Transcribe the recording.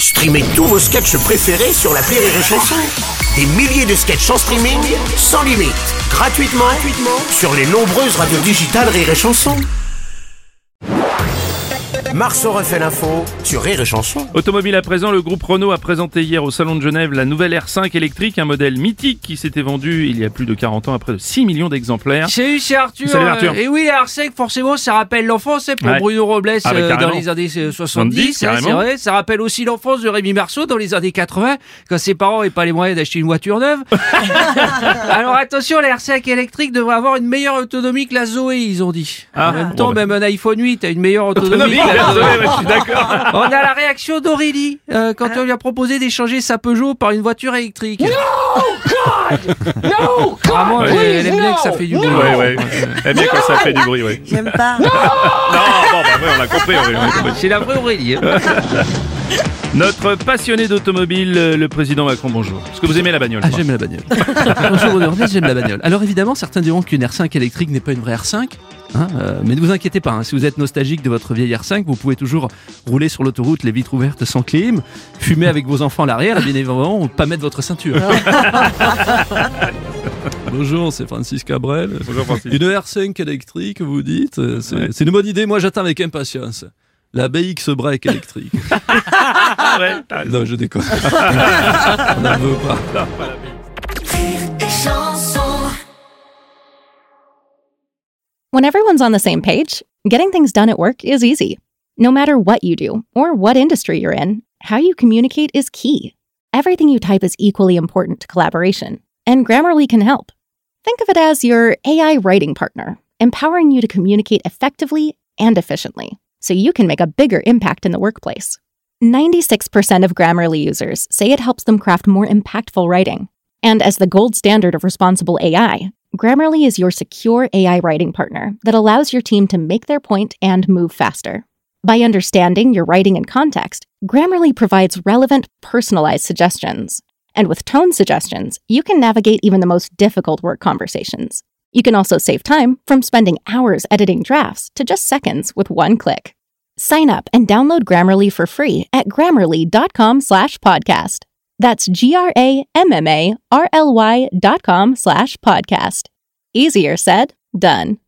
Streamez tous vos sketchs préférés sur l'appli Rire et Chanson. Des milliers de sketchs en streaming, sans limite, gratuitement sur les nombreuses radios digitales Rire et Chanson. Marceau refait l'info sur Rire et Chanson. Automobile à présent, le groupe Renault a présenté hier au Salon de Genève la nouvelle R5 électrique, un modèle mythique qui s'était vendu il y a plus de 40 ans à près de 6 millions d'exemplaires. Salut, c'est Arthur. Salut Arthur. Et oui, la R5, forcément, ça rappelle l'enfance, c'est pour Ouais. Bruno Robles dans les années 70, c'est carrément. vrai. Ça rappelle aussi l'enfance de Rémi Marceau dans les années 80, quand ses parents n'avaient pas les moyens d'acheter une voiture neuve. Alors attention, la R5 électrique devrait avoir une meilleure autonomie que la Zoé, ils ont dit. Ah, En même bon, temps, bah. même un iPhone 8 a une meilleure autonomie que la Zoé. Je suis d'accord. On a la réaction d'Aurélie quand on lui a proposé d'échanger sa Peugeot par une voiture électrique. Vraiment, elle aime bien que ça fait du bruit. Ouais. Eh bien quand ça fait du bruit, ouais. J'aime pas. Non, bon, bah, ouais, on a compris. C'est la vraie Aurélie. Hein. Notre passionné d'automobile, le président Macron, bonjour. Est-ce que vous aimez la bagnole? Ah, j'aime la bagnole. Bonjour Rodornez, j'aime la bagnole. Alors évidemment, certains diront qu'une R5 électrique n'est pas une vraie R5. Mais ne vous inquiétez pas, si vous êtes nostalgique de votre vieille R5, vous pouvez toujours rouler sur l'autoroute les vitres ouvertes sans clim, fumer avec vos enfants à l'arrière et bien évidemment pas mettre votre ceinture. Bonjour, c'est Francis Cabrel. Bonjour Francis. Une R5 électrique, vous dites, c'est une bonne idée, moi j'attends avec impatience. La BX break électrique. Ouais, t'as raison. Non, je déconne. On n'en veut pas. When everyone's on the same page, getting things done at work is easy. No matter what you do or what industry you're in, how you communicate is key. Everything you type is equally important to collaboration, and Grammarly can help. Think of it as your AI writing partner, empowering you to communicate effectively and efficiently, so you can make a bigger impact in the workplace. 96% of Grammarly users say it helps them craft more impactful writing. And as the gold standard of responsible AI, Grammarly is your secure AI writing partner that allows your team to make their point and move faster. By understanding your writing and context, Grammarly provides relevant, personalized suggestions. And with tone suggestions, you can navigate even the most difficult work conversations. You can also save time from spending hours editing drafts to just seconds with one click. Sign up and download Grammarly for free at grammarly.com/podcast. That's GRAMMARLY.com/podcast. Easier said, done.